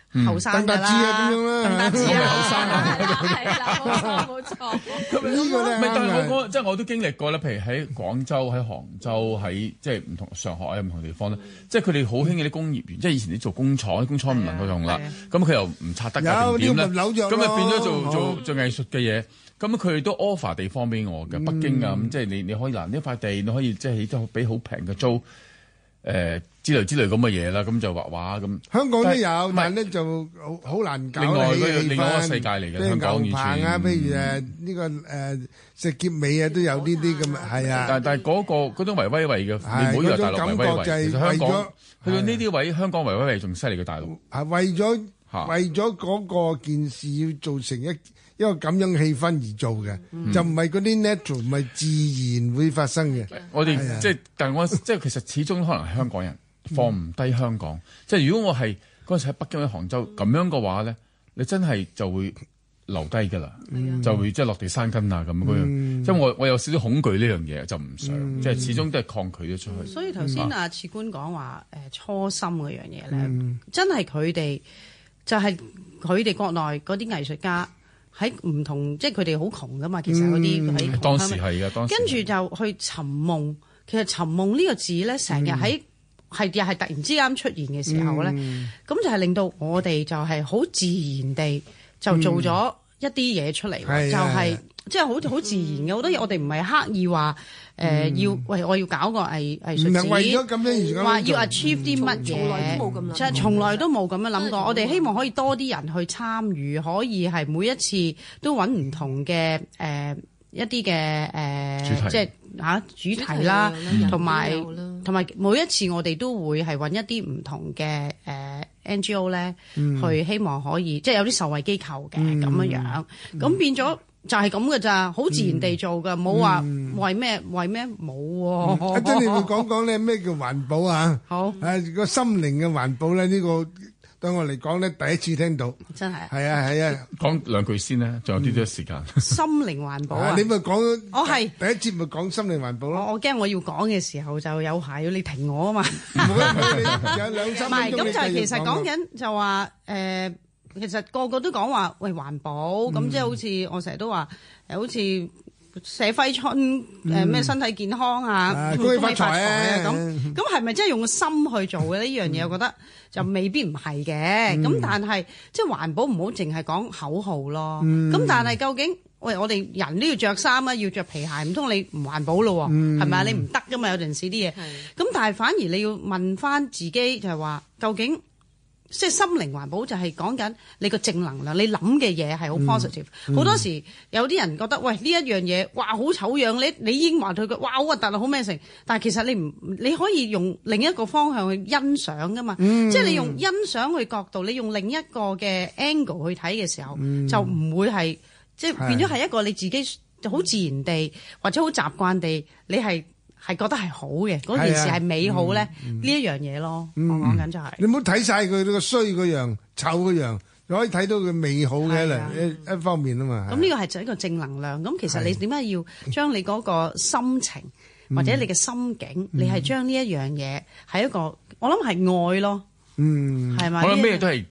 後生㗎鄧達智啊咁樣啦， 鄧達智啊， 後生啊，係啦，冇錯冇錯。 咁呢個咧唔係，但係我啱我即係我都經歷過咧，譬如喺廣州、喺杭州、喺即係唔同上海啊唔同地方咧，即係佢哋好興嘅啲工業園，即係以前啲做工廠，啲工廠唔能夠用啦，咁佢又唔拆得㗎有定點咧？ 啲咪扭咗咁咪變咗做咯做做藝術嘅嘢。咁佢哋都 offer 地方俾我嘅，北京啊咁，即係你你可以嗱呢塊地，你可以即係都俾好平嘅租，誒之類之類咁嘅嘢啦，咁就畫畫咁。 香港都有， 但係但係咧就好好難搞。 另外嗰個氣另外一個氛世界嚟嘅譬如香港牛棚啊， 完全譬如誒呢個誒石硤尾啊，都有呢啲咁啊，係啊。 但但係嗰個嗰種維威維嘅， 係你唔好以為大陸維威維， 嗰種感覺就係其實香港為咗去到呢啲位，香港維威維仲犀利過大陸。 係為咗嚇為咗嗰個件事要做成一一個咁樣氣氛而做嘅，就唔係嗰啲 natural，唔係自然會發生嘅。 我哋係啊即係，但係我即係其實始終可能係香港人放唔低香港。即係如果我係嗰陣時喺北京喺杭州咁樣嘅話咧，你真係就會留低㗎啦，就會即係落地生根啊咁嗰樣。即係我我有少少恐懼呢樣嘢，就唔想，即係始終都係抗拒咗出去。 所以頭先阿次官講話誒初心嗰樣嘢咧，真係佢哋就係佢哋國內嗰啲藝術家。喺唔同，即係佢哋好窮噶嘛，其實嗰啲喺當時係啊，當時跟住就去尋夢。其實尋夢呢個字咧，成日喺係又係突然之間出現嘅時候咧，咁、嗯、就係令到我哋就係好自然地就做咗一啲嘢出嚟， 嗯、 就係即係好好自然嘅好多嘢。我哋唔係刻意話誒、呃嗯、要喂我要搞個藝藝術展， 唔係為咗咁樣而話要 achieve 啲乜嘢，即係從來都冇咁樣諗過。我哋希望可以多啲人去參與，可以係每一次都揾唔同嘅誒、呃、一啲嘅誒，即係嚇主題啦，同埋同埋每一次我哋都會係揾一啲唔同嘅誒、呃、N G O 咧，嗯、去希望可以即係有啲受惠機構嘅咁樣樣，咁、嗯、變咗。就係咁嘅咋，好自然地做噶，冇話、嗯、為咩為咩冇喎。 阿珍，你會講講咧咩叫環保啊？ 好， 誒個心靈嘅環保咧，呢、呢個對我嚟講咧，第一次聽到。 真係。 係啊係啊， 講兩句先咧，仲有啲啲時間。 心靈環保啊！ 你咪講， 我係第一節咪講心靈環保咯。 我我驚我要講嘅時候就有排要你停我啊嘛。 唔好你有兩三分鐘。 唔係，咁就係其實講緊就話誒。呃其實個個都講話喂環保，咁、嗯、即係好似我成日都話誒，好似寫揮春誒咩、嗯、身體健康啊，恭喜發財啊咁，咁係咪真係用個心去做嘅呢樣嘢？嗯、我覺得就未必唔係嘅。咁、嗯、但係即係環保唔好淨係講口號咯。咁、嗯、但係究竟喂我哋人都要着衫啊，要着皮鞋，唔通你唔環保咯？係咪啊？你唔得噶嘛？有陣時啲嘢。咁但係反而你要問翻自己就係話究竟。即係心靈環保就係講緊你個正能量，你諗嘅嘢係好 positive。好、嗯嗯、多時有啲人覺得喂呢一樣嘢，哇好醜樣，你你已經話佢嘅，哇好核突啊，好咩成？但係其實你唔你可以用另一個方向去欣賞噶嘛，嗯、即係你用欣賞嘅角度，你用另一個嘅 angle 去睇嘅時候，嗯、就唔會係即係變咗係一個你自己好自然地或者好習慣地，你係。係覺得係好嘅，嗰件事係美好咧，呢一樣嘢咯。我講緊就係你唔好睇晒佢個衰嗰樣、醜嗰樣，你可以睇到佢美好嘅一一方面啊嘛。咁呢個係就一個正能量。咁其實你點解要將你嗰個心情或者你嘅心境，你係將呢一樣嘢係一個，我諗係愛咯。嗯，係咪？我諗咩都係